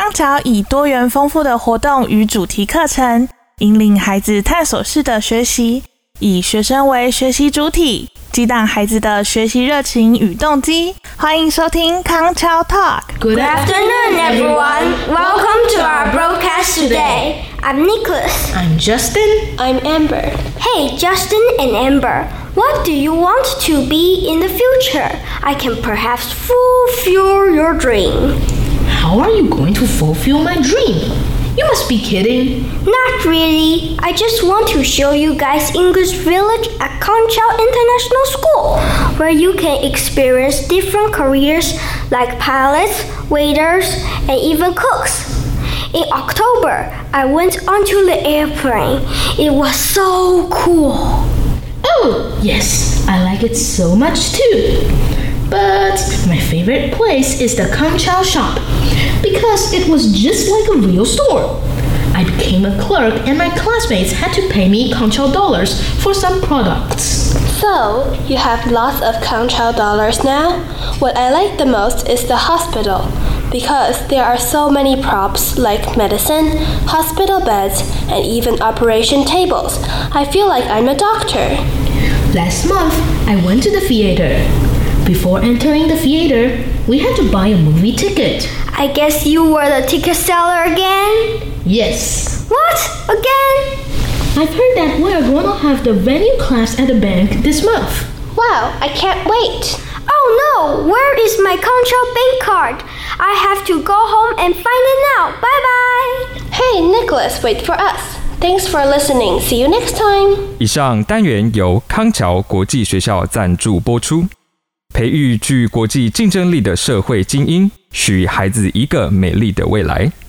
康橋以多元豐富的活動與主題課程，引領孩子探索式的學習，以學生為學習主體，激盪孩子的學習熱情與動機。歡迎收聽康橋 Talk。Good afternoon, everyone. Welcome to our broadcast today. I'm Nicholas. I'm Justin. I'm Amber. Hey, Justin and Amber, what do you want to be in the future? I can perhaps fulfill your dream. How are you going to fulfill my dream? You must be kidding. Not really. I just want to show you guys English Village at Conchal International School, where you can experience different careers like pilots, waiters, and even cooks. In October, I went onto the airplane. It was so cool. Oh, yes, I like it so much too. But my favorite place is the Conchal shop because it was just like a real store. I became a clerk and my classmates had to pay me Conchal dollars for some products. So, you have lots of Conchal dollars now? What I like the most is the hospital because there are so many props like medicine, hospital beds, and even operation tables. I feel like I'm a doctor. Last month, I went to the theater. Before entering the theater, we had to buy a movie ticket. I guess you were the ticket seller again? Yes. What? Again? I've heard that we are going to have the venue class at the bank this month. Wow, I can't wait. Oh no, where is my Conchal bank card? I have to go home and find it now. Bye-bye. Hey, Nicholas, wait for us. Thanks for listening. See you next time. 以上单元由康橋國際學校贊助播出。培育具國際競爭力的社會精英，許孩子一個美麗的未來。